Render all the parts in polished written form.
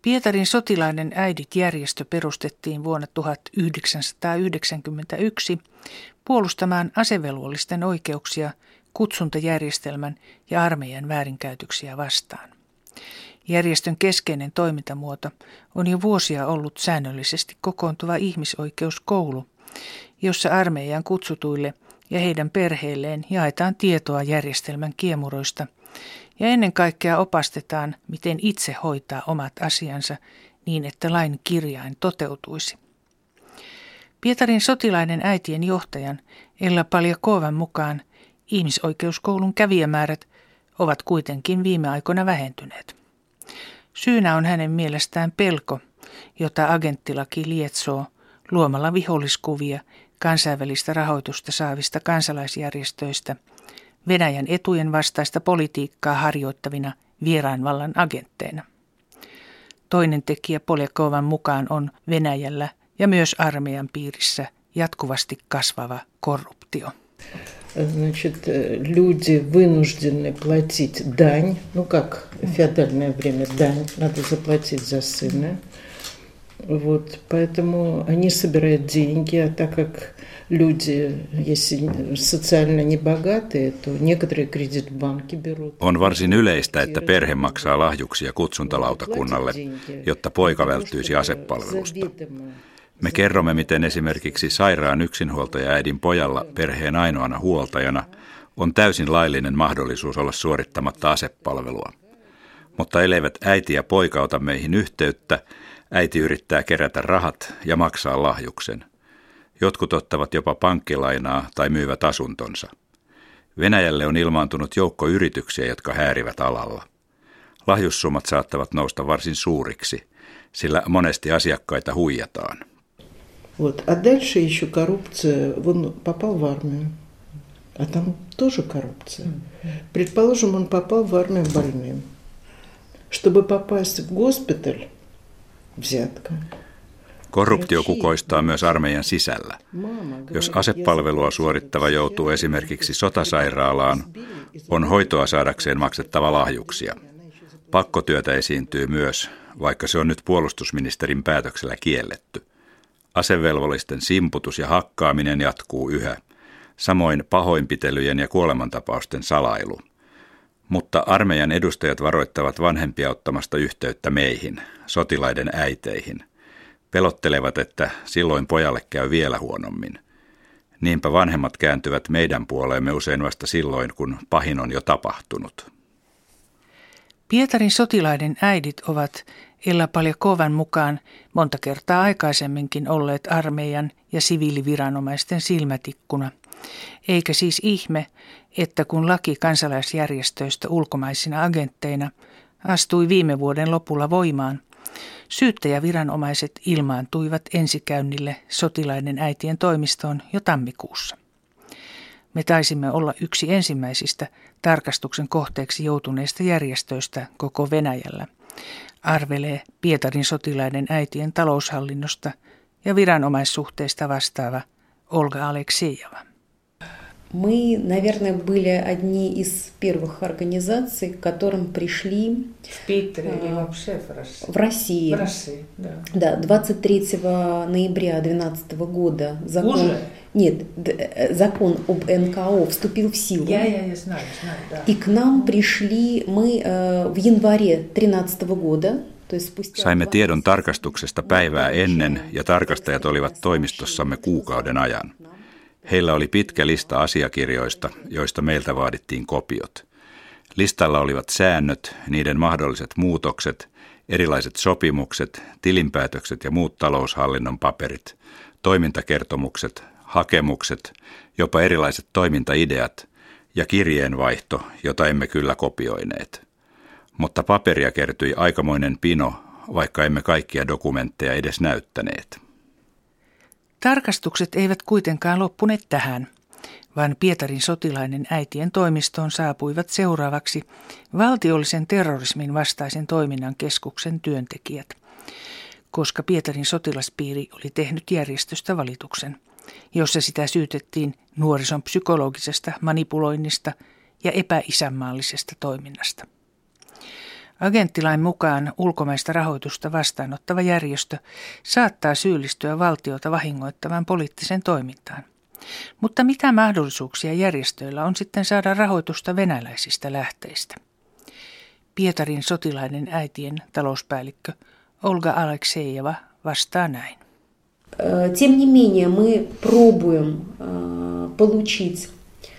Pietarin sotilaiden äidit-järjestö perustettiin vuonna 1991 puolustamaan asevelvollisten oikeuksia kutsuntajärjestelmän ja armeijan väärinkäytöksiä vastaan. Järjestön keskeinen toimintamuoto on jo vuosia ollut säännöllisesti kokoontuva ihmisoikeuskoulu, jossa armeijan kutsutuille ja heidän perheilleen jaetaan tietoa järjestelmän kiemuroista ja ennen kaikkea opastetaan, miten itse hoitaa omat asiansa niin, että lain kirjain toteutuisi. Pietarin sotilaiden äitien johtajan Ella Paljakovan mukaan ihmisoikeuskoulun kävijämäärät ovat kuitenkin viime aikoina vähentyneet. Syynä on hänen mielestään pelko, jota agenttilaki lietsoo luomalla viholliskuvia kansainvälistä rahoitusta saavista kansalaisjärjestöistä Venäjän etujen vastaista politiikkaa harjoittavina vieraanvallan agentteina. Toinen tekijä Poljakovan mukaan on Venäjällä ja myös armeijan piirissä jatkuvasti kasvava korruptio. Значит, люди вынуждены платить дань, как в феодальное время дань, надо заплатить за сына. Вот, поэтому они собирают деньги, а так как люди, если социально небогатые, то некоторые кредит в банке берут. On varsin yleistä, että perhe maksaa lahjuksia kutsuntalautakunnalle, jotta poika välttyisi asepalvelusta. Me kerromme, miten esimerkiksi sairaan yksinhuoltajaäidin pojalla perheen ainoana huoltajana on täysin laillinen mahdollisuus olla suorittamatta asepalvelua. Mutta elleivät äiti ja poika ota meihin yhteyttä, äiti yrittää kerätä rahat ja maksaa lahjuksen. Jotkut ottavat jopa pankkilainaa tai myyvät asuntonsa. Venäjälle on ilmaantunut joukko yrityksiä, jotka häärivät alalla. Lahjussummat saattavat nousta varsin suuriksi, sillä monesti asiakkaita huijataan. Вот. А дальше еще коррупция. Он попал в армию, а там тоже коррупция. Предположим, он попал в армию больным. Чтобы попасть в госпиталь, взятка. Korruptio kukoistaa myös armeijan sisällä. Jos asepalvelua suorittava joutuu esimerkiksi sotasairaalaan, on hoitoa saadakseen maksettava lahjuksia. Pakkotyötä esiintyy myös, vaikka se on nyt puolustusministerin päätöksellä kielletty. Asevelvollisten simputus ja hakkaaminen jatkuu yhä, samoin pahoinpitelyjen ja kuolemantapausten salailu. Mutta armeijan edustajat varoittavat vanhempia ottamasta yhteyttä meihin, sotilaiden äiteihin. Pelottelevat, että silloin pojalle käy vielä huonommin. Niinpä vanhemmat kääntyvät meidän puoleemme usein vasta silloin, kun pahin on jo tapahtunut. Pietarin sotilaiden äidit ovat Ella Paljakovan mukaan monta kertaa aikaisemminkin olleet armeijan ja siviiliviranomaisten silmätikkuna. Eikä siis ihme, että kun laki kansalaisjärjestöistä ulkomaisina agentteina astui viime vuoden lopulla voimaan, syyttäjäviranomaiset ilmaantuivat ensikäynnille sotilaiden äitien toimistoon jo tammikuussa. Me taisimme olla yksi ensimmäisistä tarkastuksen kohteeksi joutuneista järjestöistä koko Venäjällä, arvelee Pietarin sotilaiden äitien taloushallinnosta ja viranomaissuhteista vastaava Olga Aleksejeva. Мы, наверное, были одни из первых организаций, к которым пришли в России. Да, 23 ноября 2012 года закон об НКО вступил в силу. Я знаю, да. И к нам пришли мы в январе 2013 года. Saimme tiedon tarkastuksesta päivää ennen ja tarkastajat olivat toimistossamme kuukauden ajan. Heillä oli pitkä lista asiakirjoista, joista meiltä vaadittiin kopiot. Listalla olivat säännöt, niiden mahdolliset muutokset, erilaiset sopimukset, tilinpäätökset ja muut taloushallinnon paperit, toimintakertomukset, hakemukset, jopa erilaiset toimintaideat ja kirjeenvaihto, jota emme kyllä kopioineet. Mutta paperia kertyi aikamoinen pino, vaikka emme kaikkia dokumentteja edes näyttäneet. Tarkastukset eivät kuitenkaan loppuneet tähän, vaan Pietarin sotilaiden äitien toimistoon saapuivat seuraavaksi valtiollisen terrorismin vastaisen toiminnan keskuksen työntekijät, koska Pietarin sotilaspiiri oli tehnyt järjestöstä valituksen, jossa sitä syytettiin nuorison psykologisesta manipuloinnista ja epäisänmaallisesta toiminnasta. Agenttilain mukaan ulkomaista rahoitusta vastaanottava järjestö saattaa syyllistyä valtiota vahingoittavaan poliittiseen toimintaan. Mutta mitä mahdollisuuksia järjestöillä on sitten saada rahoitusta venäläisistä lähteistä? Pietarin sotilaiden äitien talouspäällikkö Olga Aleksejeva vastaa näin. Тем не менее, мы пробуем получить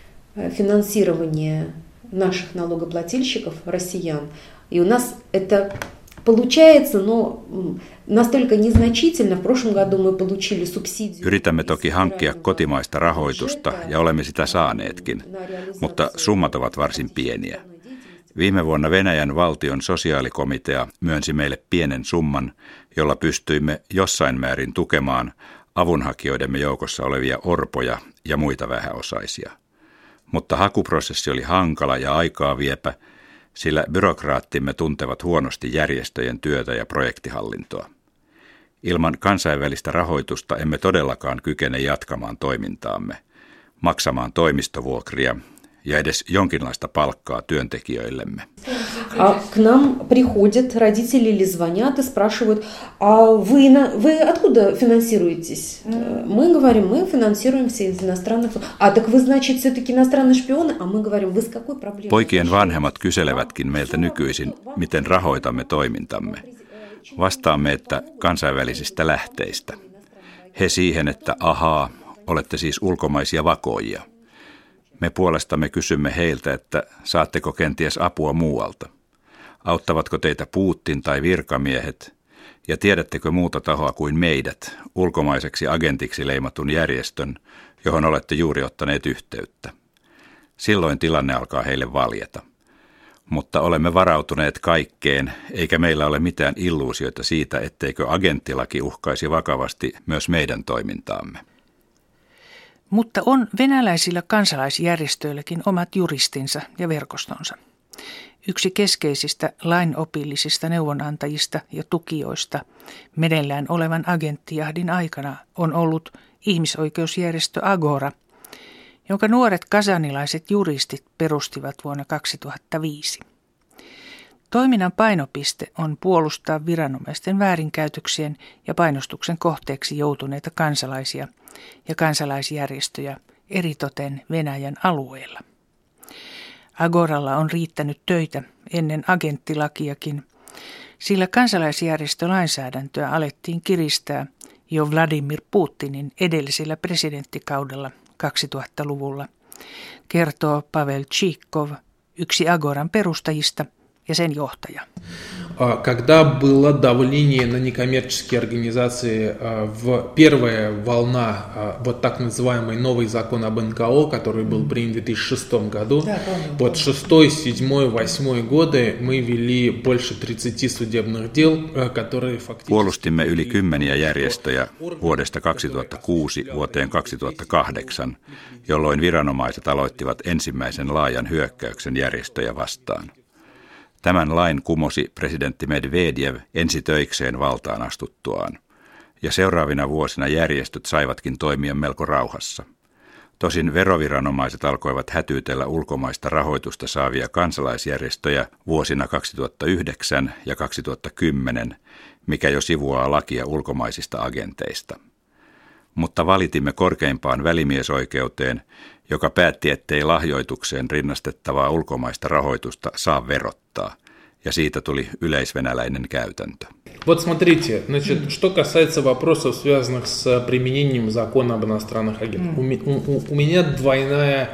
финансирование наших налогоплательщиков, россиян. И у нас это получается, но настолько незначительно. В прошлом году мы получили субсидию. Yritämme toki hankkia kotimaista rahoitusta ja olemme sitä saaneetkin, mutta summat ovat varsin pieniä. Viime vuonna Venäjän valtion sosiaalikomitea myönsi meille pienen summan, jolla pystyimme jossain määrin tukemaan avunhakijoidemme joukossa olevia orpoja ja muita vähäosaisia. Mutta hakuprosessi oli hankala ja aikaa viepä, sillä byrokraattimme tuntevat huonosti järjestöjen työtä ja projektihallintoa. Ilman kansainvälistä rahoitusta emme todellakaan kykene jatkamaan toimintaamme, maksamaan toimistovuokria ja edes jonkinlaista palkkaa työntekijöillemme. К нам приходят родители или звонят и спрашивают, а вы откуда финансируетесь? Мы говорим, мы финансируемся из иностранных. А так вы, значит, все-таки иностранные шпионы? А мы говорим, вы с какой проблемой? Poikien vanhemmat kyselevätkin meiltä nykyisin, miten rahoitamme toimintamme. Vastaamme, että kansainvälisistä lähteistä. He siihen, että ahaa, olette siis ulkomaisia vakoojia. Me puolestamme kysymme heiltä, että saatteko kenties apua muualta. Auttavatko teitä Putin tai virkamiehet? Ja tiedättekö muuta tahoa kuin meidät, ulkomaiseksi agentiksi leimatun järjestön, johon olette juuri ottaneet yhteyttä? Silloin tilanne alkaa heille valjeta. Mutta olemme varautuneet kaikkeen, eikä meillä ole mitään illuusioita siitä, etteikö agenttilaki uhkaisi vakavasti myös meidän toimintaamme. Mutta on venäläisillä kansalaisjärjestöilläkin omat juristinsa ja verkostonsa. Yksi keskeisistä lainopillisista neuvonantajista ja tukijoista meneillään olevan agenttijahdin aikana on ollut ihmisoikeusjärjestö Agora, jonka nuoret kasanilaiset juristit perustivat vuonna 2005. Toiminnan painopiste on puolustaa viranomaisten väärinkäytöksien ja painostuksen kohteeksi joutuneita kansalaisia ja kansalaisjärjestöjä eritoten Venäjän alueella. Agoralla on riittänyt töitä ennen agenttilakiakin, sillä kansalaisjärjestölainsäädäntöä alettiin kiristää jo Vladimir Putinin edellisellä presidenttikaudella 2000-luvulla, kertoo Pavel Tšikov, yksi Agoran perustajista ja sen johtaja. Когда было давление на некоммерческие организации в первая волна вот так называемый новый закон об НКО, который был принят в 2006 году, вот 6, 7, 8 годы мы вели больше 30 судебных дел, которые фактически... Puolustimme yli 10 järjestöjä vuodesta 2006 vuoteen 2008, jolloin viranomaiset aloittivat ensimmäisen laajan hyökkäyksen järjestöjä vastaan. Tämän lain kumosi presidentti Medvedev ensi töikseen valtaan astuttuaan, ja seuraavina vuosina järjestöt saivatkin toimia melko rauhassa. Tosin veroviranomaiset alkoivat hätyytellä ulkomaista rahoitusta saavia kansalaisjärjestöjä vuosina 2009 ja 2010, mikä jo sivuaa lakia ulkomaisista agenteista. Mutta valitimme korkeimpaan välimiesoikeuteen, joka päätti, ettei lahjoitukseen rinnastettavaa ulkomaista rahoitusta saa verottaa, ja siitä tuli yleisvenäläinen käytäntö. Вот смотрите, значит, что касается вопросов, связанных с применением закона об иностранных агентах. У меня двойная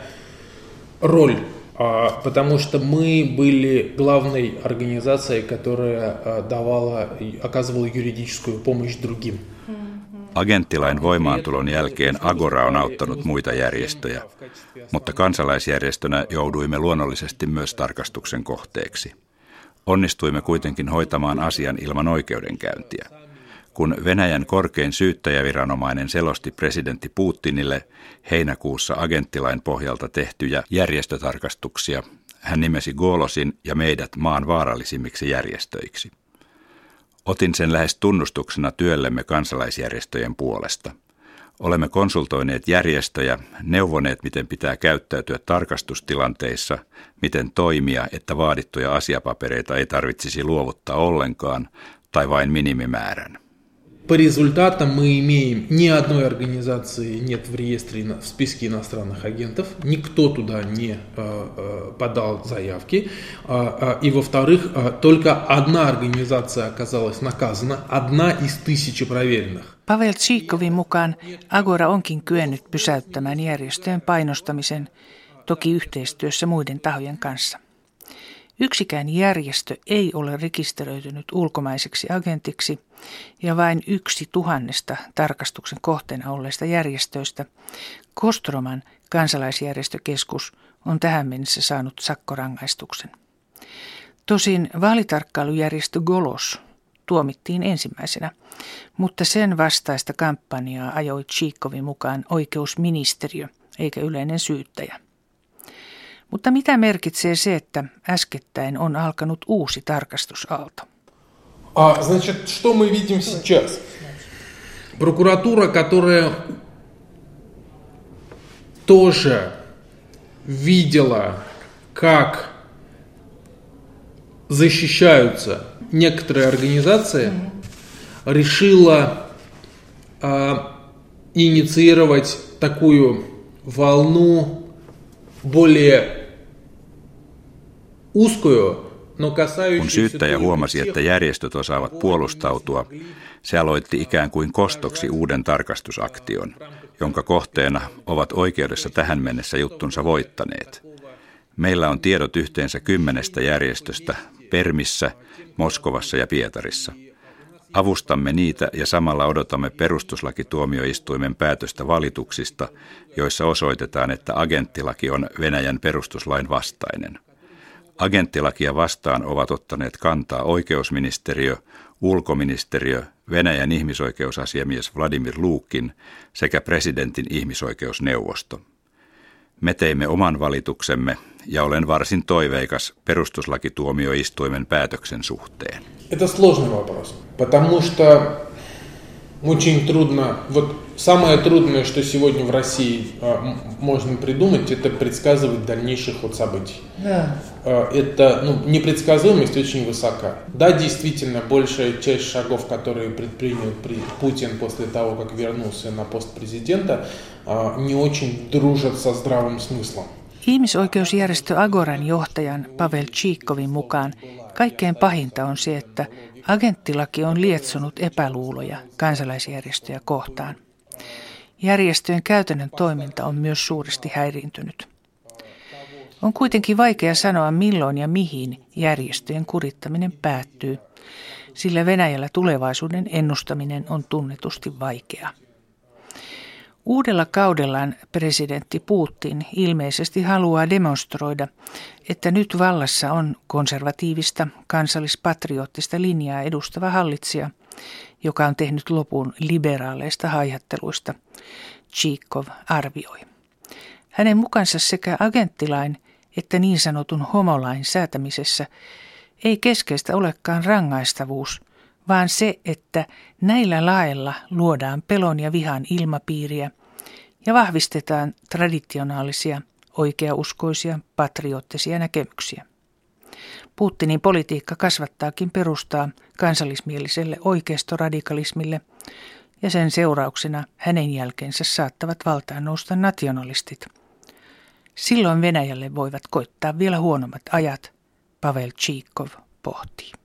роль, потому что мы были главной организацией, которая оказывала юридическую помощь другим. Agenttilain voimaantulon jälkeen Agora on auttanut muita järjestöjä, mutta kansalaisjärjestönä jouduimme luonnollisesti myös tarkastuksen kohteeksi. Onnistuimme kuitenkin hoitamaan asian ilman oikeudenkäyntiä. Kun Venäjän korkein syyttäjäviranomainen selosti presidentti Putinille heinäkuussa agenttilain pohjalta tehtyjä järjestötarkastuksia, hän nimesi Golosin ja meidät maan vaarallisimmiksi järjestöiksi. Otin sen lähes tunnustuksena työllemme kansalaisjärjestöjen puolesta. Olemme konsultoineet järjestöjä, neuvoneet, miten pitää käyttäytyä tarkastustilanteissa, miten toimia, että vaadittuja asiapapereita ei tarvitsisi luovuttaa ollenkaan tai vain minimimäärän. По результатам мы имеем ни одной организации нет в реестре в списке иностранных агентов, никто туда не подал заявки, и во-вторых, только одна организация оказалась наказана, одна из 1000 проверенных. Pavel Tsiikovin mukaan Agora onkin kyennyt pysäyttämään järjestöjen painostamisen, toki yhteistyössä muiden tahojen kanssa. Yksikään järjestö ei ole rekisteröitynyt ulkomaiseksi agentiksi ja vain 1,000 tarkastuksen kohteena olleista järjestöistä Kostroman kansalaisjärjestökeskus on tähän mennessä saanut sakkorangaistuksen. Tosin vaalitarkkailujärjestö Golos tuomittiin ensimmäisenä, mutta sen vastaista kampanjaa ajoi Tsiikovin mukaan oikeusministeriö eikä yleinen syyttäjä. Mutta mitä merkitsee se, että äskettäin on alkanut uusi tarkastusaalto? Значит, что мы видим сейчас? Прокуратура, которая тоже видела, как защищаются некоторые организации, решила инициировать такую волну более Kun syyttäjä huomasi, että järjestöt osaavat puolustautua, se aloitti ikään kuin kostoksi uuden tarkastusaktion, jonka kohteena ovat oikeudessa tähän mennessä juttunsa voittaneet. Meillä on tiedot yhteensä 10 järjestöstä Permissä, Moskovassa ja Pietarissa. Avustamme niitä ja samalla odotamme perustuslakituomioistuimen päätöstä valituksista, joissa osoitetaan, että agenttilaki on Venäjän perustuslain vastainen. Agenttilakia vastaan ovat ottaneet kantaa oikeusministeriö, ulkoministeriö, Venäjän ihmisoikeusasiamies Vladimir Lukin sekä presidentin ihmisoikeusneuvosto. Me teimme oman valituksemme ja olen varsin toiveikas perustuslakituomioistuimen päätöksen suhteen. Это сложный вопрос, потому что очень трудно, вот самое трудное, что сегодня в России можно придумать, это предсказывать дальнейших событий. Yeah. Это, непредсказуемость очень высока. Да, действительно, большая часть шагов, которые предпринял Путин после того, как вернулся на пост президента, не очень дружат со здравым смыслом. Ihmisoikeusjärjestö Agoran johtajan Pavel Tsiikovin mukaan kaikkein pahinta on se, että agenttilaki on lietsonut epäluuloja kansalaisjärjestöjä kohtaan. Järjestöjen käytännön toiminta on myös suuresti häiriintynyt. On kuitenkin vaikea sanoa, milloin ja mihin järjestöjen kurittaminen päättyy, sillä Venäjällä tulevaisuuden ennustaminen on tunnetusti vaikeaa. Uudella kaudellaan presidentti Putin ilmeisesti haluaa demonstroida, että nyt vallassa on konservatiivista, kansallispatriottista linjaa edustava hallitsija, joka on tehnyt lopun liberaaleista haihatteluista, Tsiikov arvioi. Hänen mukansa sekä agenttilain että niin sanotun homolain säätämisessä ei keskeistä olekaan rangaistavuus, vaan se, että näillä laeilla luodaan pelon ja vihan ilmapiiriä ja vahvistetaan traditionaalisia, oikeauskoisia, patriottisia näkemyksiä. Putinin politiikka kasvattaakin perustaa kansallismieliselle oikeistoradikalismille ja sen seurauksena hänen jälkeensä saattavat valtaan nousta nationalistit. Silloin Venäjälle voivat koittaa vielä huonommat ajat, Pavel Tsiikov pohtii.